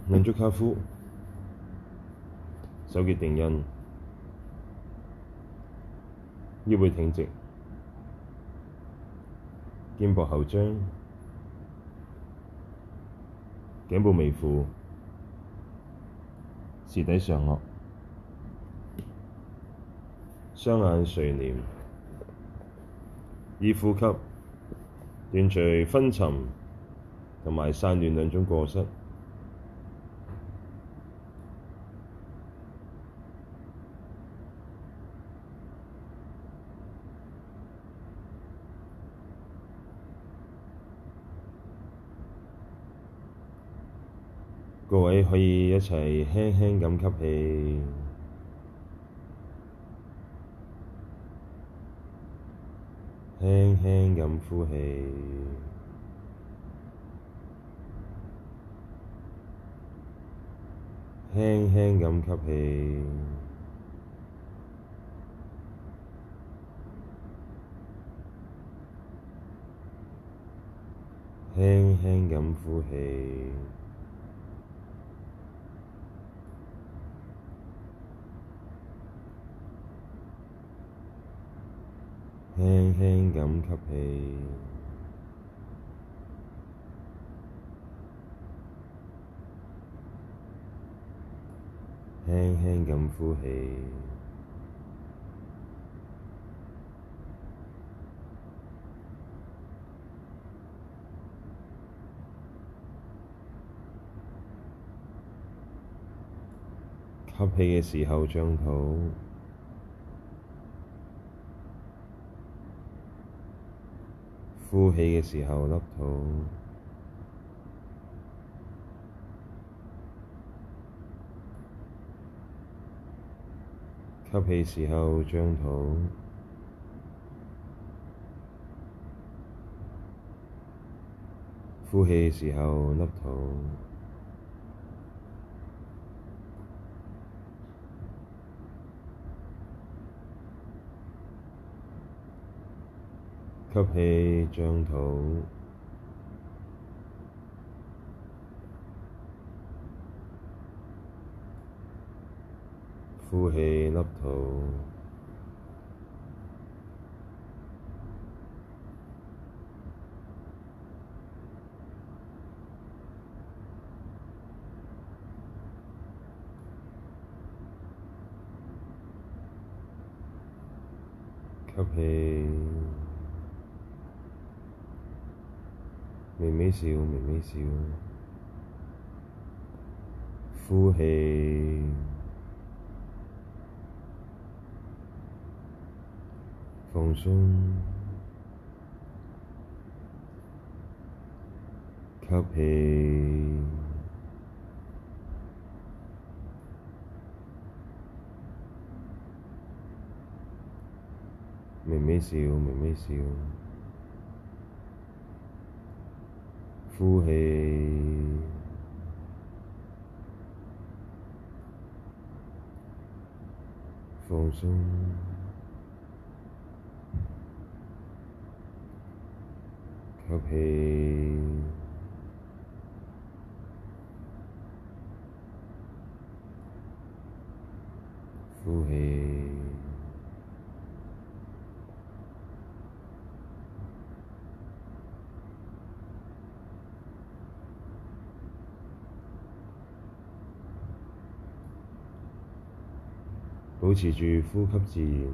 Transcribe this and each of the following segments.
兩足跏趺，手結定印，腰背挺直，肩膊後張，頸部微俯，舌抵上顎，雙眼垂簾，以呼吸斷除昏沉同埋散亂兩種過失。各位可以一齊輕輕咁吸氣，輕輕咁呼氣，輕輕咁吸氣，輕輕咁呼氣。輕輕咁吸氣，輕輕咁呼氣。吸氣嘅時候張肚，呼氣嘅時候凹肚。吸氣時候張肚，呼氣時候凹肚。吸氣張肚，呼氣凹肚。吸氣，微微笑，微微笑。呼氣，放鬆。吸氣，微微笑，微微笑。呼氣，放鬆。吸氣，呼氣。保持住呼吸自然。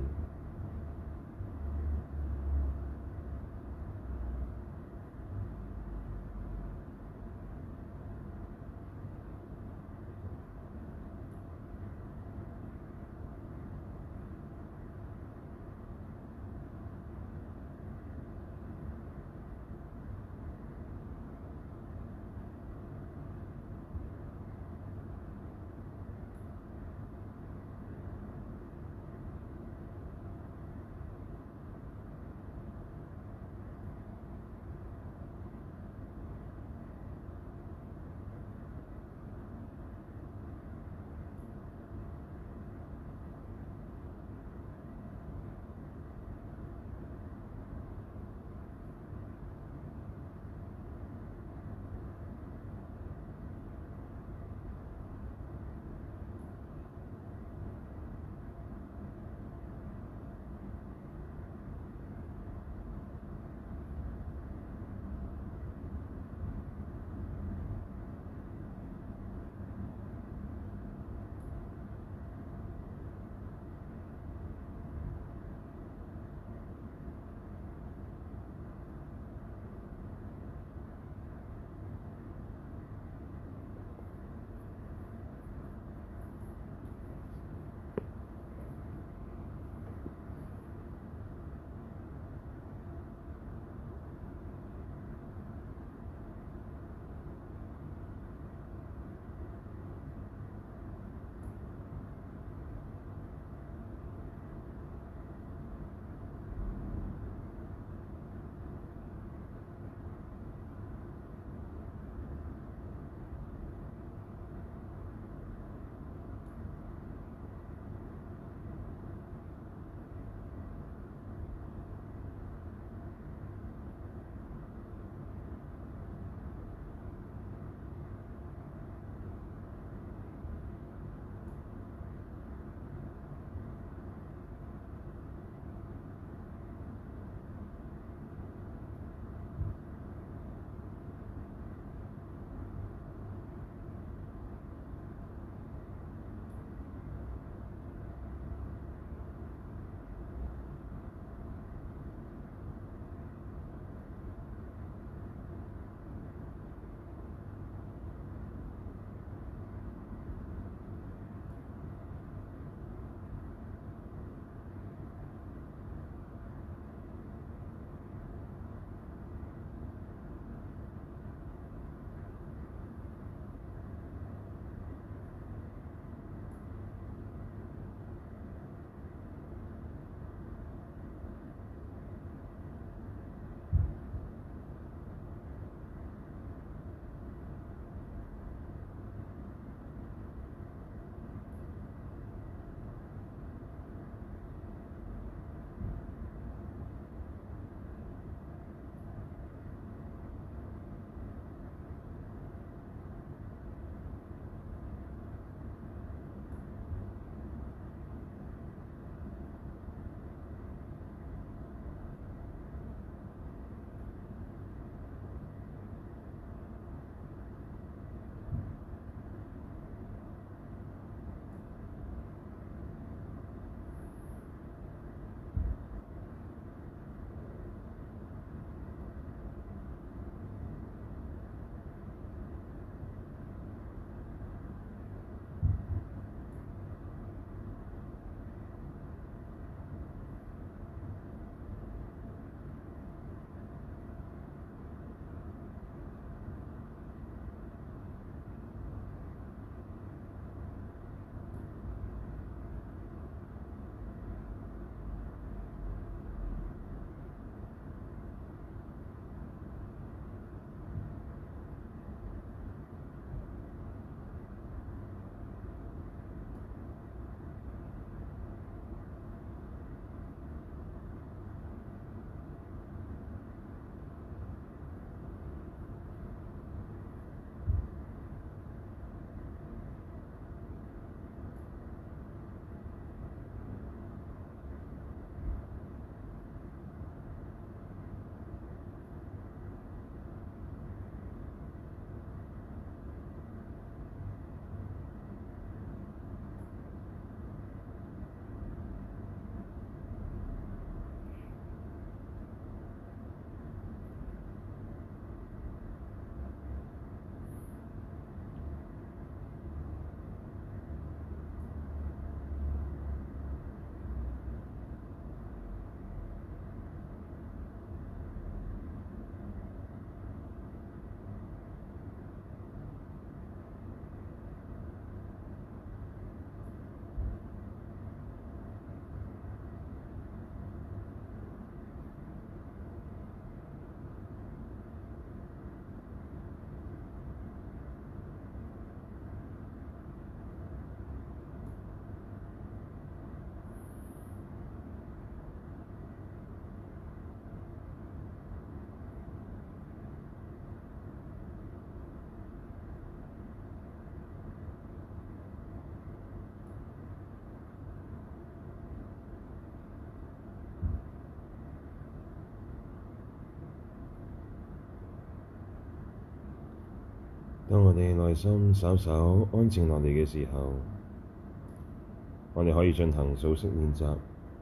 當我哋內心稍稍安靜落嚟嘅時候，我哋可以進行數息練習，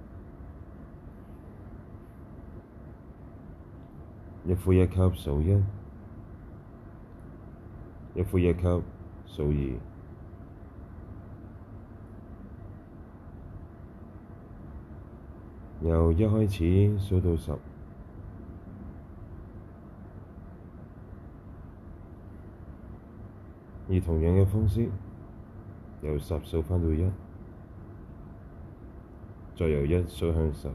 一呼一吸數一，一呼一吸數二，由一開始數到10，以同樣嘅方式由10數返到1，再由1數向10。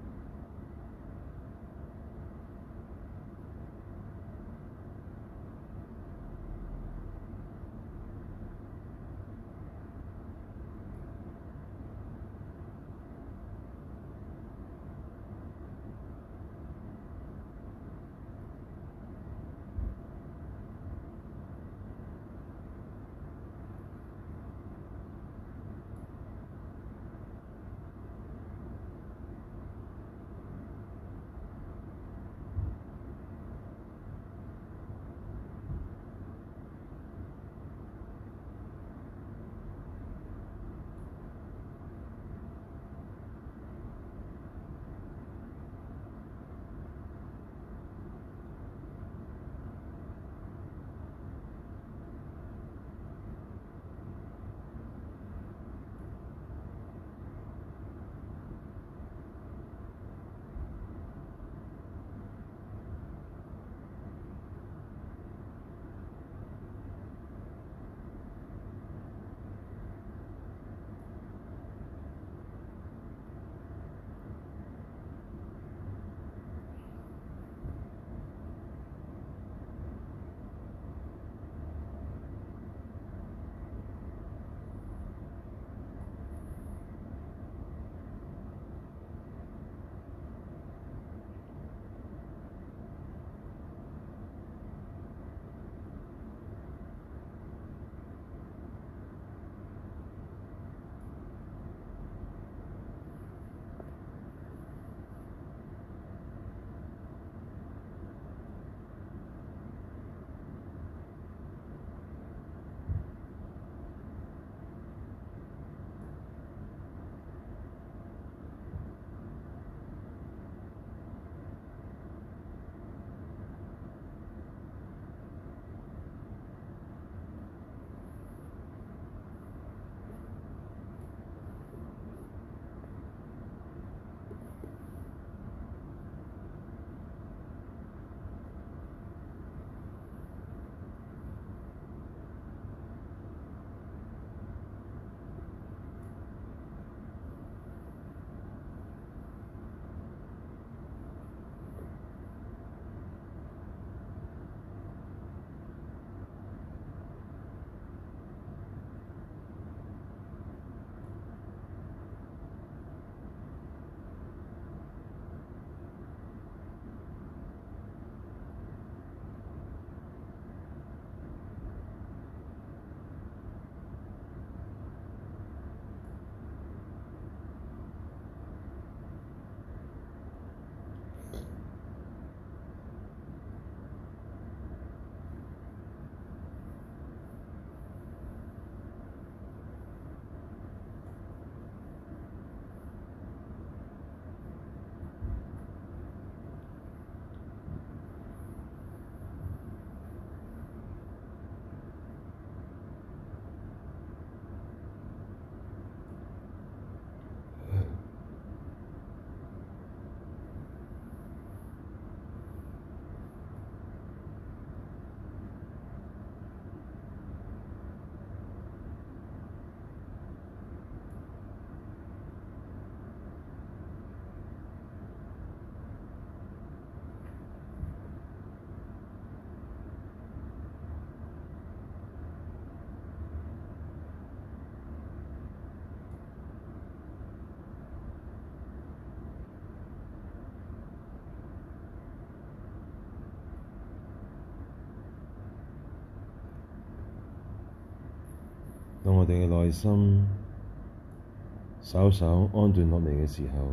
當我哋嘅內心稍稍安頓落嚟嘅時候，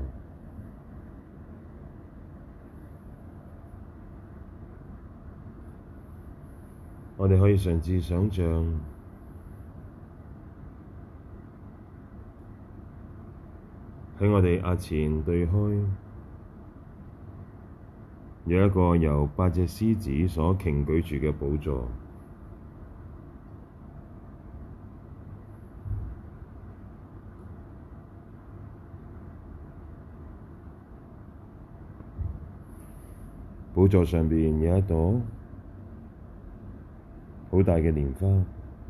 我哋可以嘗試想像喺我哋額前對開有一個由8隻獅子所擎舉住嘅寶座。寶座上邊有一朵好大嘅蓮花。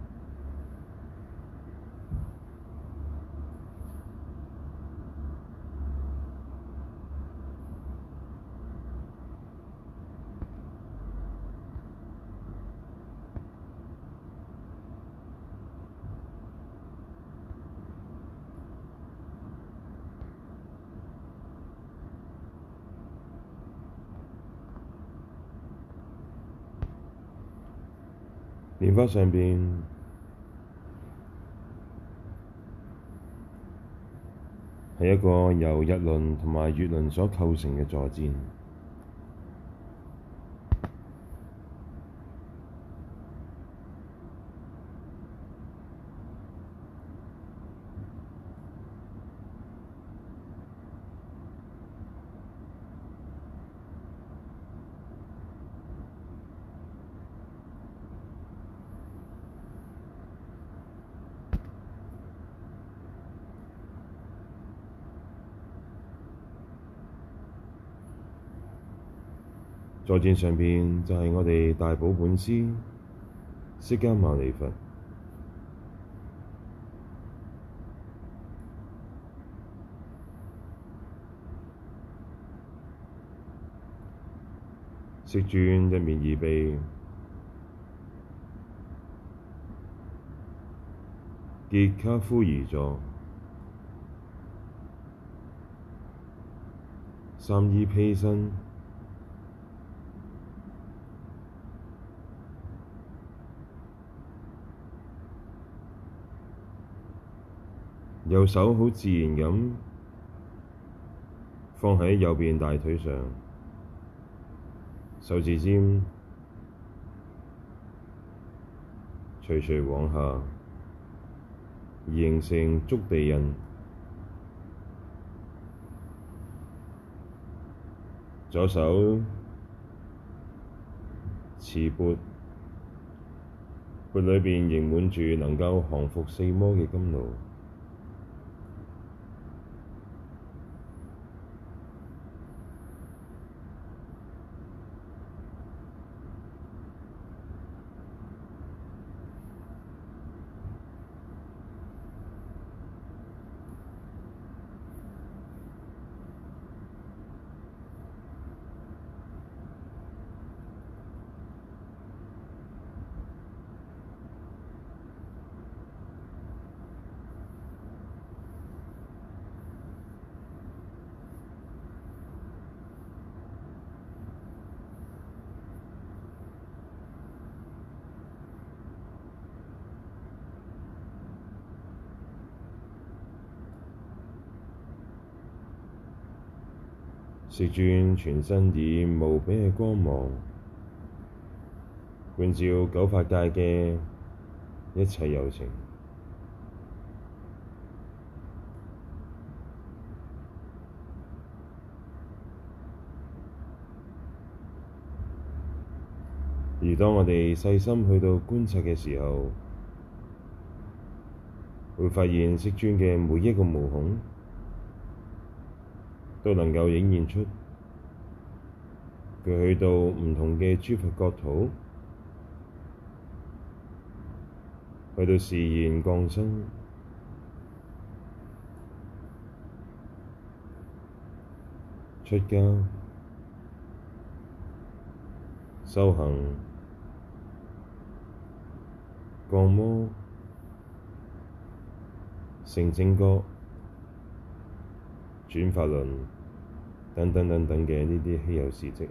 蓮花上邊係一個由日輪同埋月輪所構成嘅坐墊。坐墊上邊就係我哋大寶本師釋迦牟尼佛。釋尊一面二臂，結跏趺而坐，三衣披身，右手好自然咁放喺右邊大腿上，手指尖徐徐往下，形成觸地印。左手持缽，缽裏邊盈滿住能夠降伏四魔嘅甘露。釋尊全身以無比嘅光芒觀照九法界嘅一切有情，而當我哋細心去到觀察嘅時候，會發現釋尊嘅每一個毛孔都能夠映現出佢去到唔同嘅諸佛國土，去到示現降生、出家、修行、降魔、成正覺、轉法輪等等等等嘅呢啲稀有事蹟。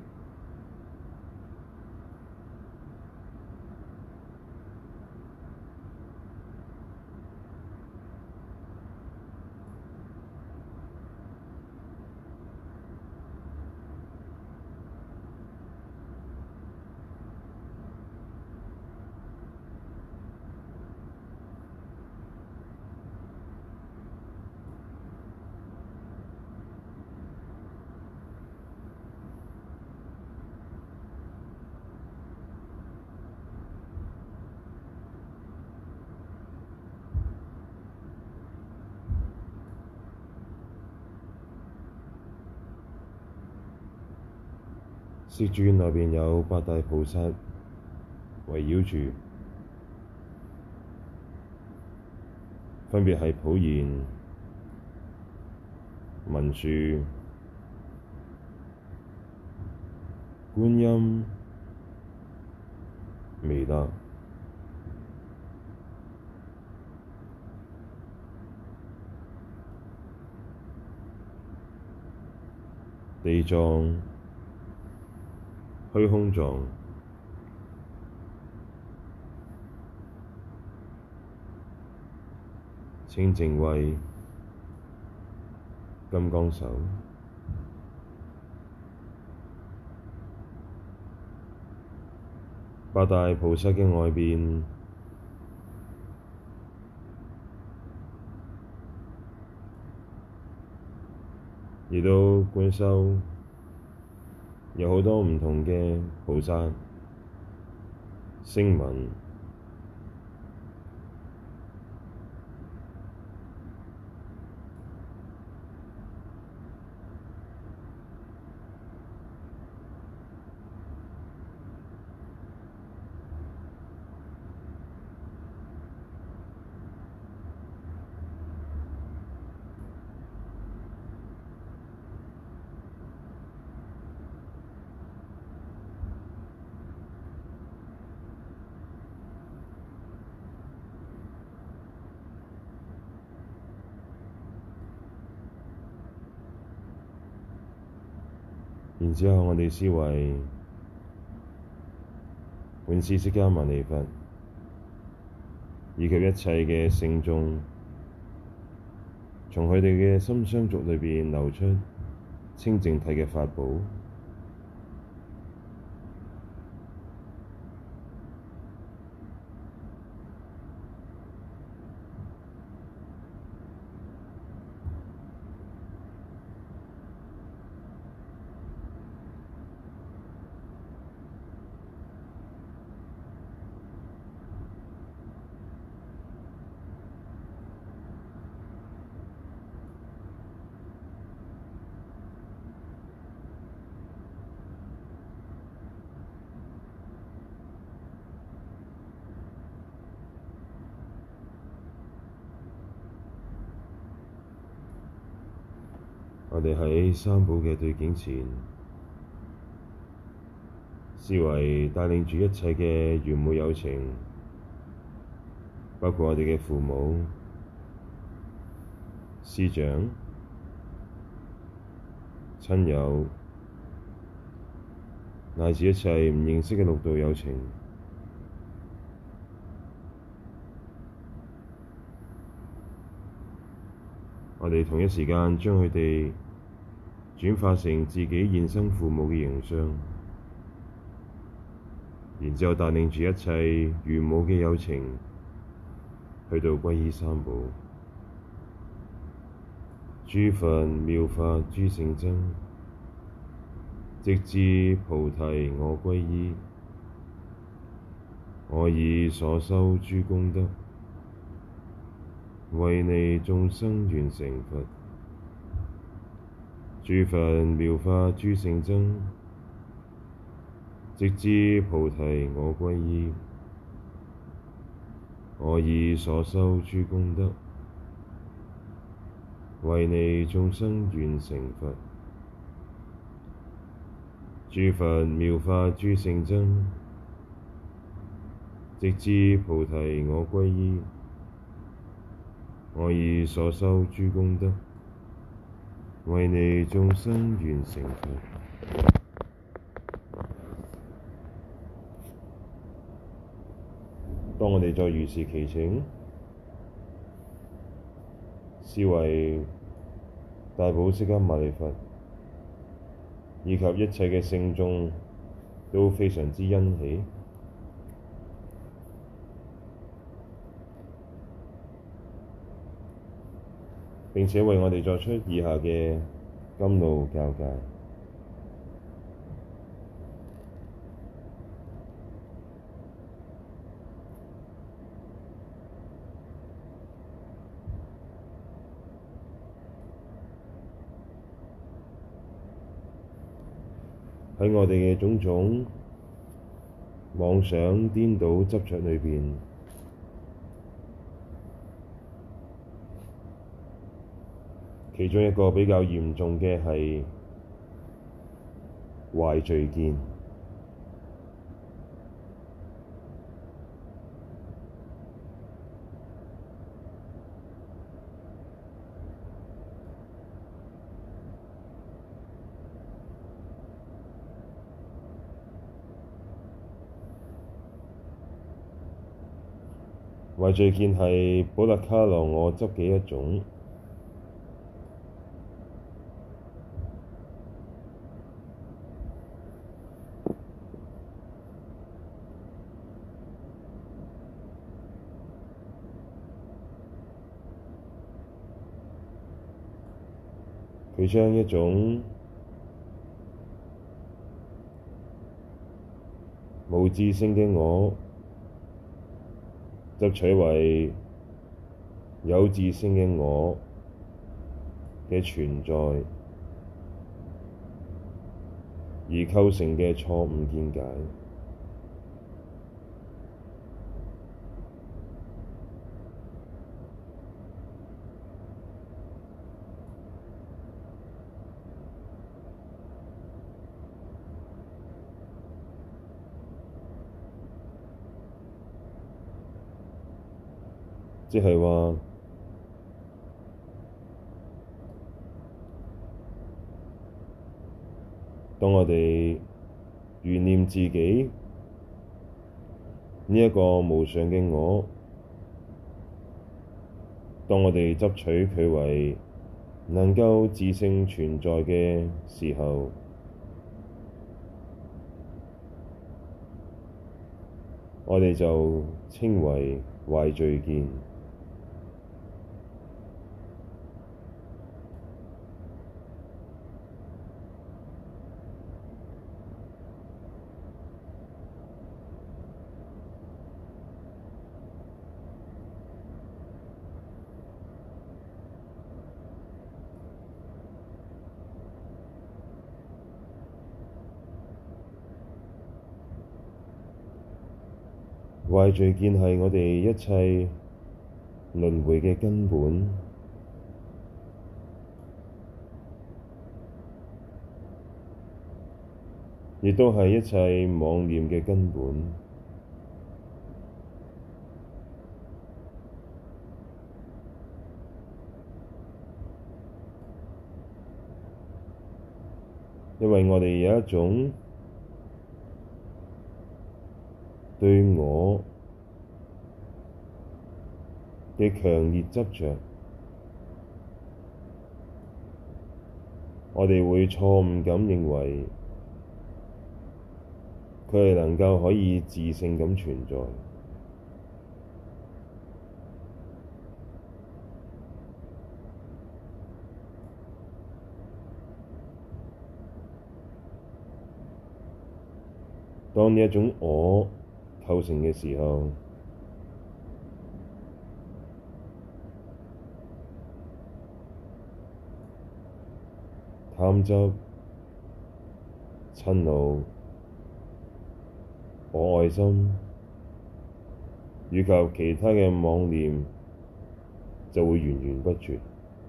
釋尊內邊有八大菩薩圍繞住，分別係普賢、文殊、觀音、彌勒、地藏、虛空藏、清淨慧、金剛手。八大菩薩嘅外邊亦都觀修有好多唔同嘅菩薩聲聞。然之後，我哋思維本師釋迦牟尼佛以及一切嘅聖眾，從佢哋嘅心相續裏邊流出清淨體嘅法寶。我哋喺三寶嘅對境前，思維帶領住一切嘅緣母有情，包括我哋嘅父母、師長、親友，乃至一切唔認識嘅六道有情。我哋同一時間將佢哋轉化成自己現生父母嘅形象，然之後帶領住一切緣母嘅有情去到皈依三寶。諸佛妙法諸聖僧，直至菩提我皈依。我以所修諸功德，為利眾生願成佛。諸佛妙法諸聖僧，直至菩提我皈依。我以所修諸功德，為利眾生願成佛。諸佛妙法諸聖僧，直至菩提我皈依。我以所修諸功德，為利眾生願成佛。當我哋再如是其情，思維大寶釋迦牟尼佛以及一切嘅聖眾都非常之欣喜，並且為我哋作出以下嘅甘露教誡。 喺我哋嘅種種妄想顛倒執着裏邊，其中一個比較嚴重嘅係壞聚見。壞聚見係補特伽羅我執嘅一種，佢將一種無自性嘅我執取為有自性嘅我嘅存在，而構成嘅錯誤見解，即係話，當我哋懸念自己呢一個無常嘅我，當我哋執取佢為能夠自性存在嘅時候，我哋就稱為壞聚見。壞聚見係我哋一切輪迴嘅根本，亦都係一切妄念嘅根本。因為我哋有一種對我嘅強烈執着，我哋會錯誤咁認為佢係能夠可以自性咁存在。當呢一種我構成嘅時候，貪執、嗔怒、我愛心以及其他嘅妄念就會源源不絕。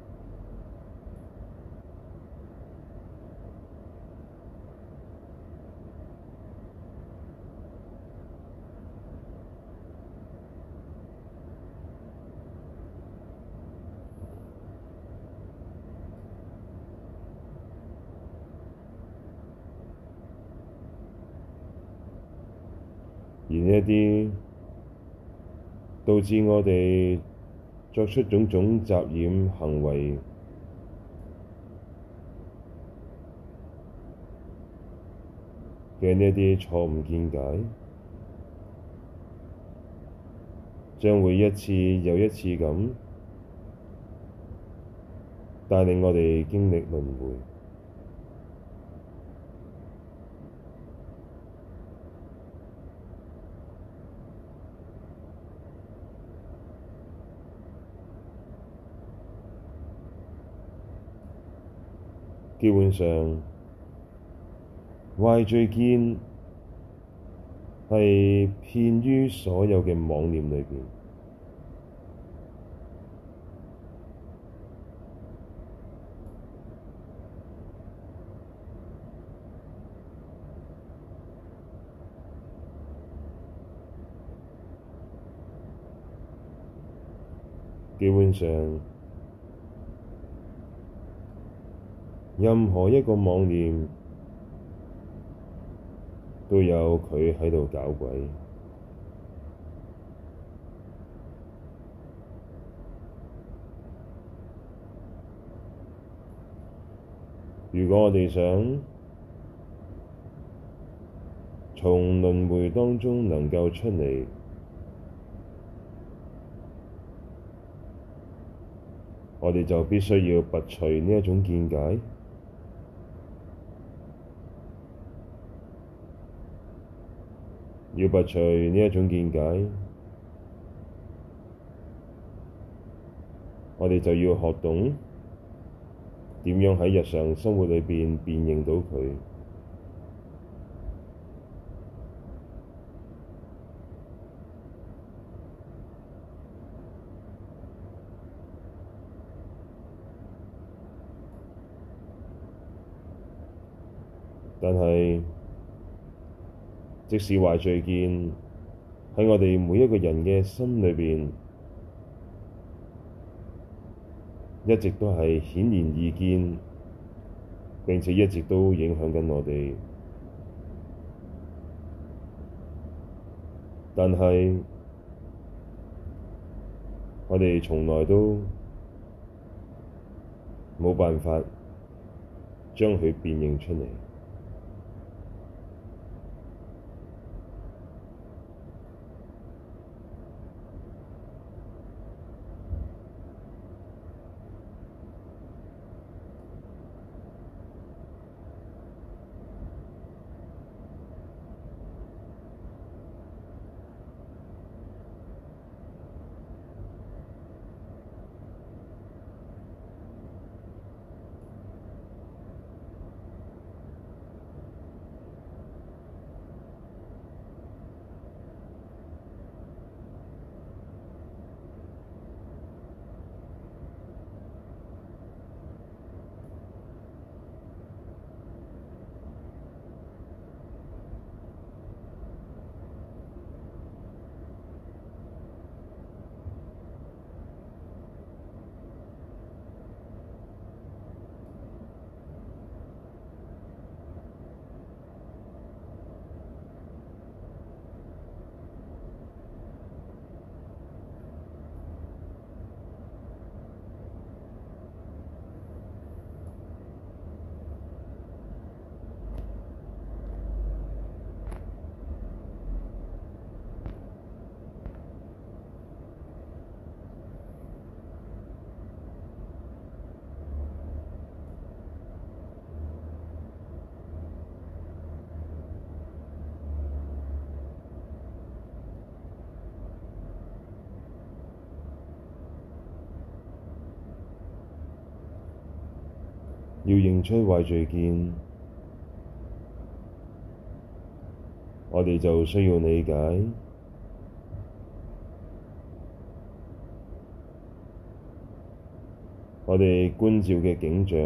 而呢一啲導致我哋作出種種雜染行為嘅呢一啲錯誤見解，將會一次又一次咁帶領我哋經歷輪迴。基本上， 壞聚見係遍於所有嘅妄念裏邊。基本上，任何一個妄念都有佢喺度搞鬼。如果我哋想從輪迴當中能夠出嚟，我哋就必須要拔除呢一種見解，要拔除呢一種見解，我哋就要學懂點樣喺日常生活裏邊辨認到佢。但係，即使壞聚見喺我哋每一個人嘅心裏邊，一直都係顯然易見，並且一直都影響緊我哋。但係，我哋從來都冇辦法將佢辨認出嚟。要認出壞聚見，我哋就需要理解我哋觀照嘅景象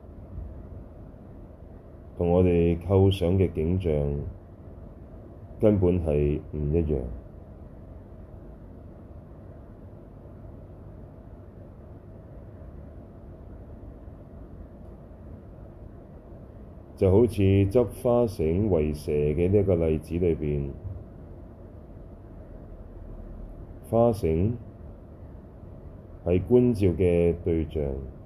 同我哋構想嘅景象根本係唔一樣。就好似執花繩為蛇嘅呢一個例子裏邊，花繩係觀照嘅對象，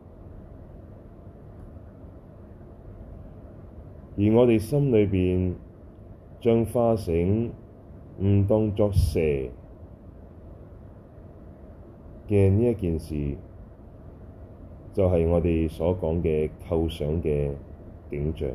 而我哋心裏邊將花繩誤當作蛇嘅呢一件事，就係我哋所講嘅構想嘅景象。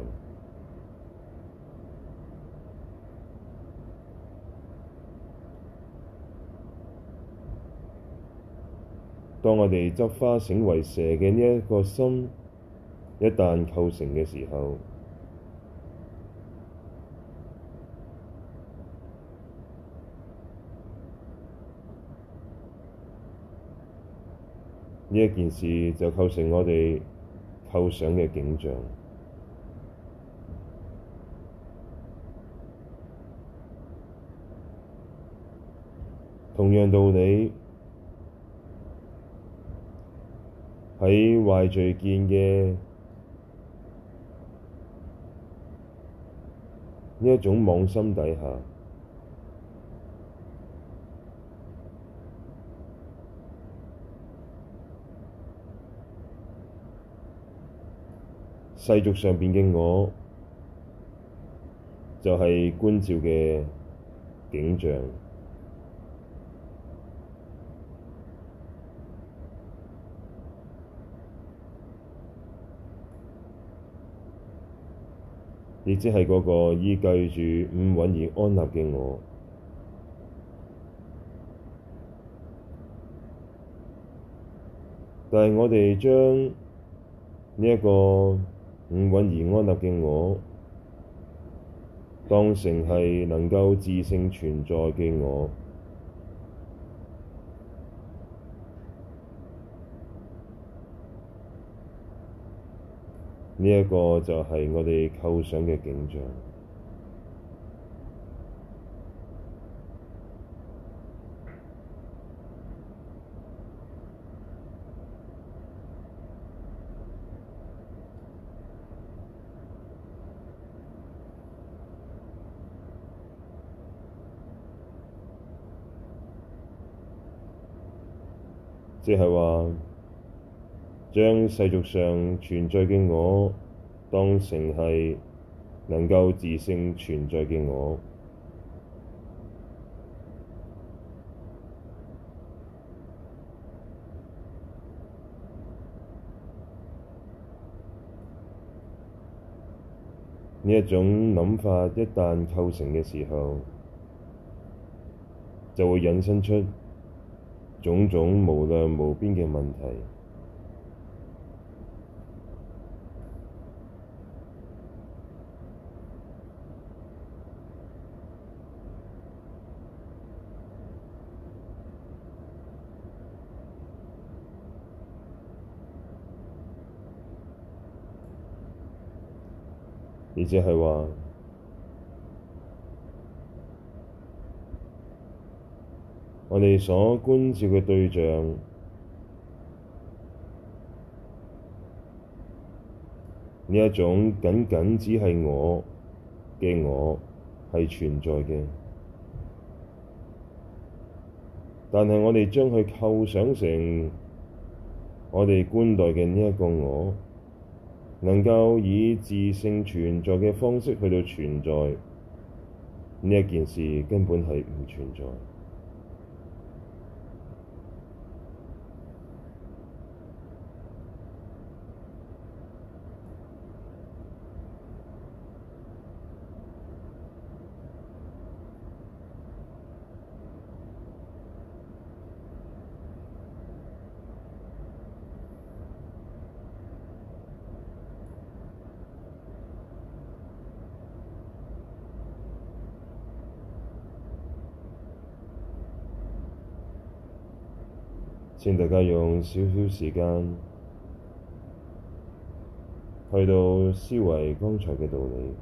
當我哋執花繩為蛇嘅呢一個心一旦構成嘅時候， 呢一件事就構成我哋構想嘅景象。同樣道理，喺壞聚見嘅呢一種妄心底下，世俗上邊嘅我就係觀照嘅景象。亦即係嗰個依據住五蘊而安立嘅我，但係我哋將呢一個五蘊而安立嘅我當成係能夠自性存在嘅我，呢一個就係我哋構想嘅景象。即係話，將世俗上存在嘅我當成係能夠自性存在嘅我，呢一種諗法一旦構成嘅時候，就會引申出種種無量無邊嘅問題。亦即係話，我哋所觀照嘅對象，呢一種僅僅只係我嘅我係存在嘅，但係我哋將佢構想成我哋觀待嘅呢一個我，能夠以自性存在嘅方式去到存在，呢一件事根本係唔存在。請大家用少少時間去到思維剛才嘅道理。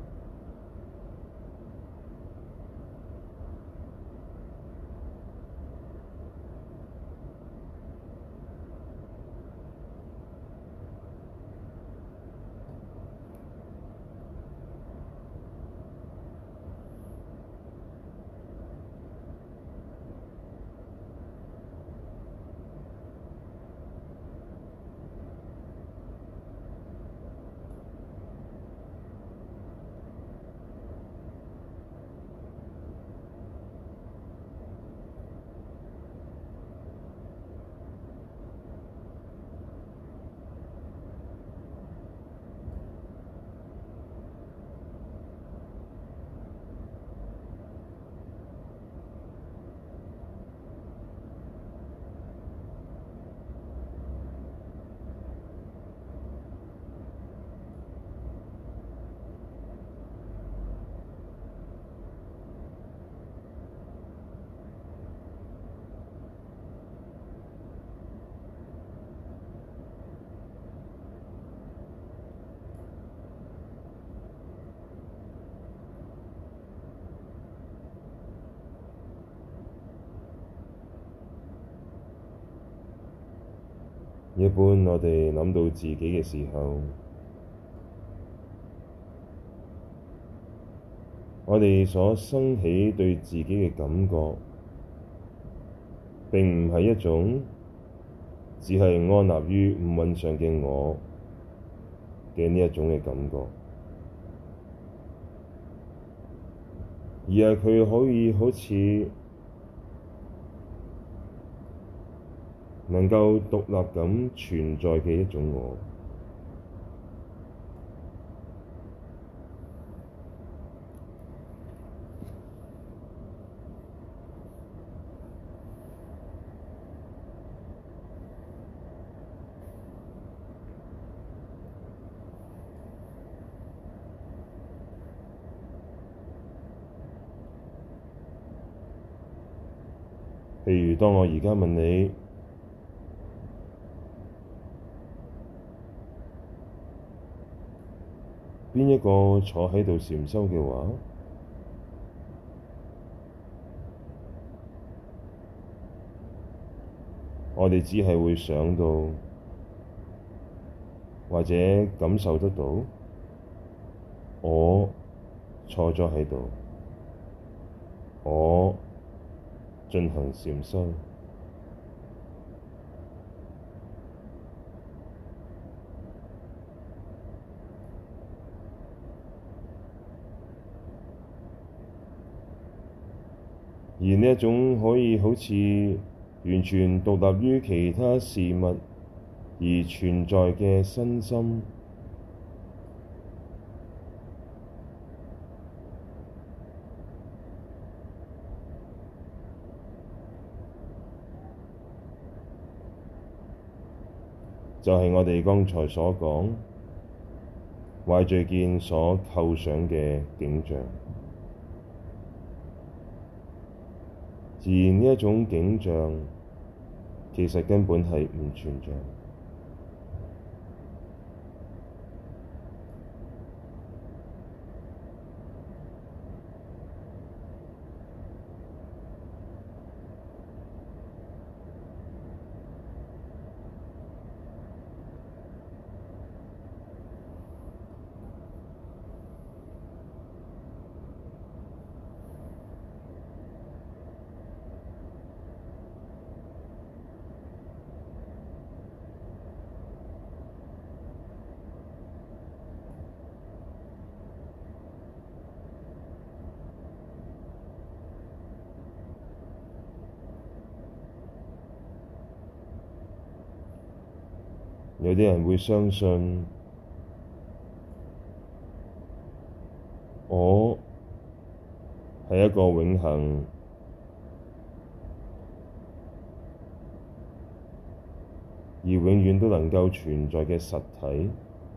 一般我哋諗到自己嘅時候，我哋所生起對自己嘅感覺，並唔係一種只係安立於五蘊上嘅我嘅呢一種嘅感覺，而係佢可以好似能夠獨立咁存在嘅一種我。譬如當我而家問你，邊一個坐喺度禪修嘅話，我哋只係會想到或者感受得到，我坐咗喺度，我進行禪修。而呢一種可以好似完全獨立於其他事物而存在嘅身心，就係我哋剛才所講壞聚見所構想嘅景象。而呢一種景象其實根本係唔存在。有啲人會相信我係一個永恆而永遠都能夠存在嘅實體。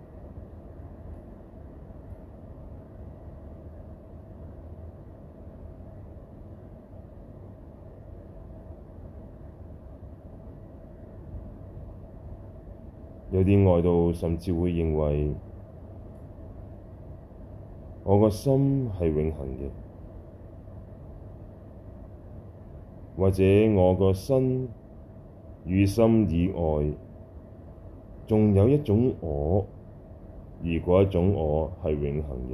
有啲外道甚至會認為我個心係永恆嘅，或者我個身與心以外，仲有一種我，而嗰一種我係永恆嘅。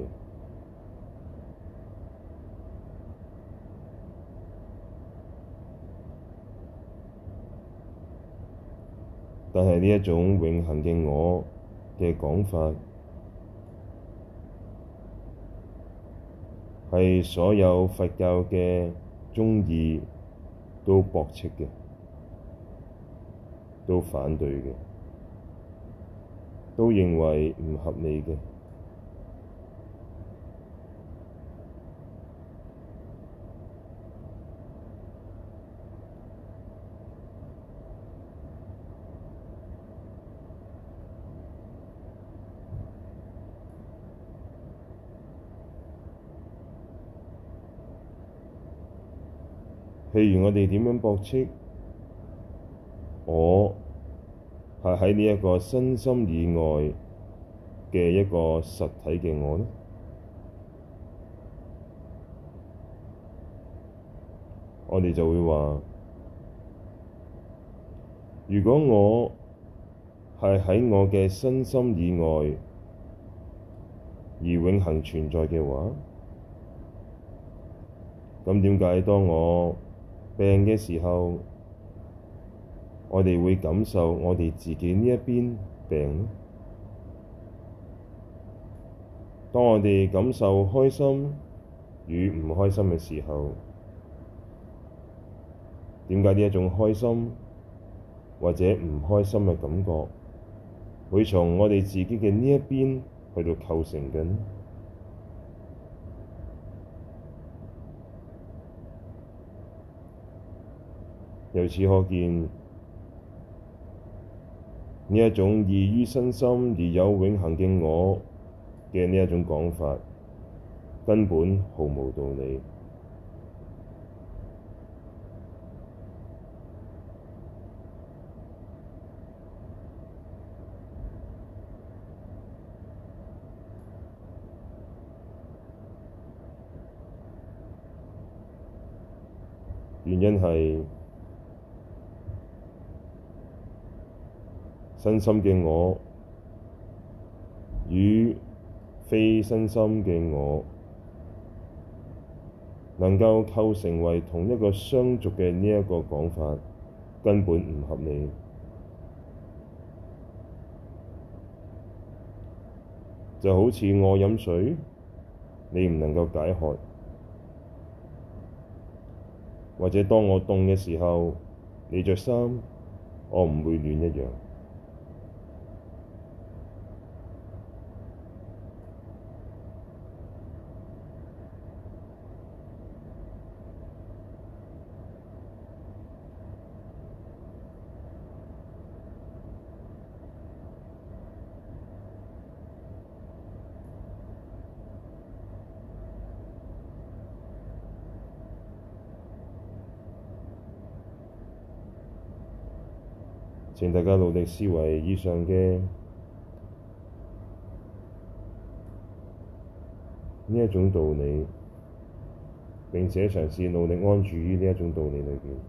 但係呢一種永恆嘅我嘅講法，係所有佛教嘅宗義都駁斥嘅，都反對嘅，都認為唔合理嘅。譬如我哋點樣駁斥我係喺呢一個身心以外嘅一個實體嘅我呢？我哋就會話，如果我係喺我嘅身心以外而永恆存在嘅話，咁點解當我病嘅時候，我哋會感受我哋自己呢一邊病呢？當我哋感受開心與唔開心嘅時候，點解呢一種開心或者唔開心嘅感覺會從我哋自己嘅呢一邊去到構成嘅呢？由此可見，呢一種異於身心而有永恆嘅我嘅呢一種講法，根本毫無道理。原因係身心嘅我與非身心嘅我能夠構成為同一個相續嘅呢一個講法，根本唔合理。就好似我飲水，你唔能夠解渴。或者當我凍嘅時候，你着衫，我唔會暖一樣。請大家努力思維以上嘅呢一種道理，並且嘗試努力安住於呢一種道理裏邊。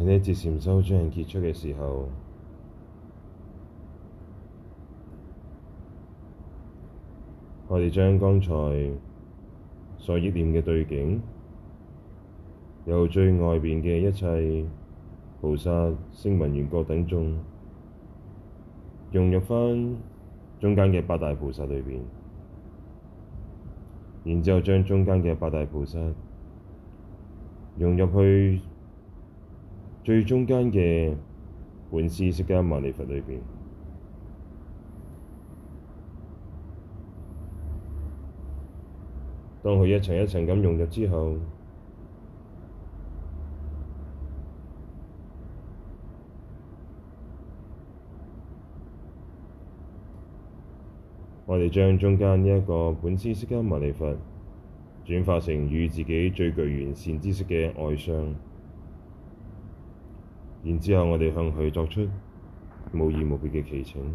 喺呢一節禪修將結束嘅時候，我哋將剛才所憶念嘅對境，由最外邊嘅一切菩薩、聲聞緣覺等眾，融入返中間嘅八大菩薩裏邊，然之後將中間嘅八大菩薩融入去最中間嘅本師釋迦牟尼佛裏邊。當佢一層一層咁融入之後，我哋將中間呢一個本師釋迦牟尼佛轉化成與自己最具完善知識嘅外相，然之後我哋向佢作出無異無別嘅祈請。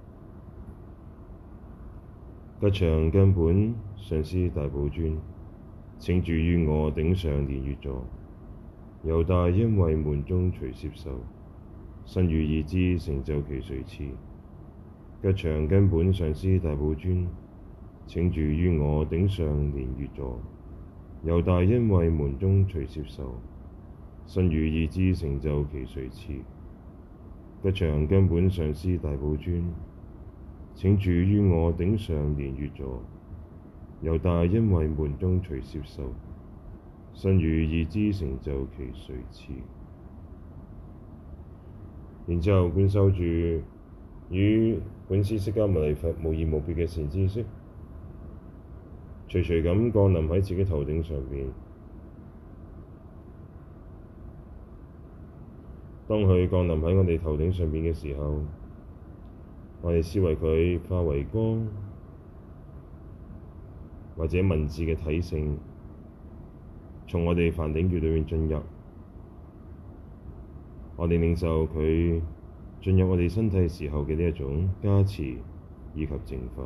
吉祥根本上師大寶尊，請住於我頂上蓮月座，由大恩惠門中隨攝受，身語意之成就其隨次。吉祥根本上師大寶尊，請住於我頂上蓮月座，由大恩惠門中隨攝受，身語意之成就其隨次。吉祥根本上師大寶尊，請住於我頂上蓮月座，由大恩惠門中隨攝受，身語意之成就其隨次。然之後觀修住與本師釋迦牟尼佛無異無別嘅善知識，徐徐咁降臨喺自己頭頂上邊。當佢降臨喺我哋頭頂上邊嘅時候，我哋思維佢化為光，或者文字嘅體性，從我哋梵頂穴裏面進入，我哋領受佢進入我哋身體時候嘅呢一種加持以及淨化。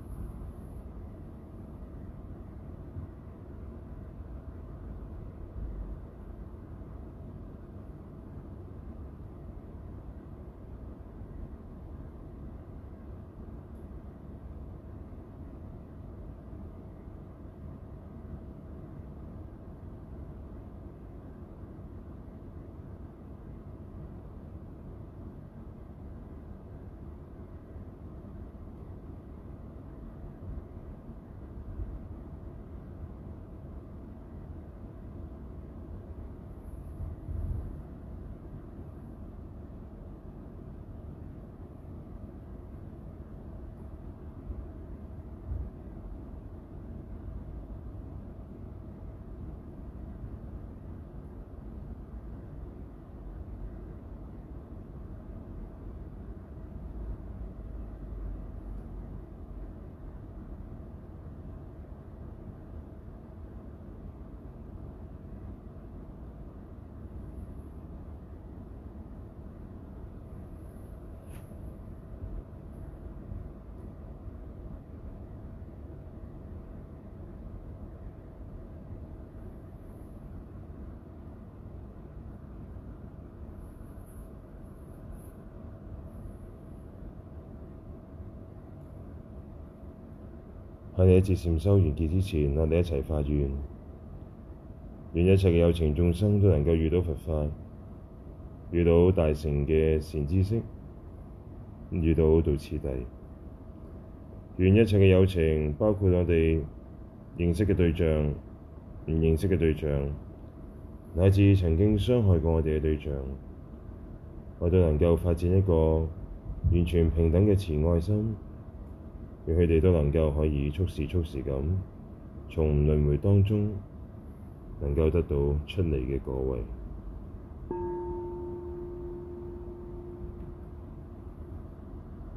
喺你一節禪修完結之前，我哋一齊發願，願一切嘅有情眾生都能夠遇到佛法，遇到大乘嘅善知識，遇到道次第。願一切嘅有情，包括我哋認識嘅對象、唔認識嘅對象，乃至曾經傷害過我哋嘅對象，我都能夠發展一個完全平等嘅慈愛心。讓佢哋都能夠可以速時咁從輪迴當中能夠得到出離嘅果位。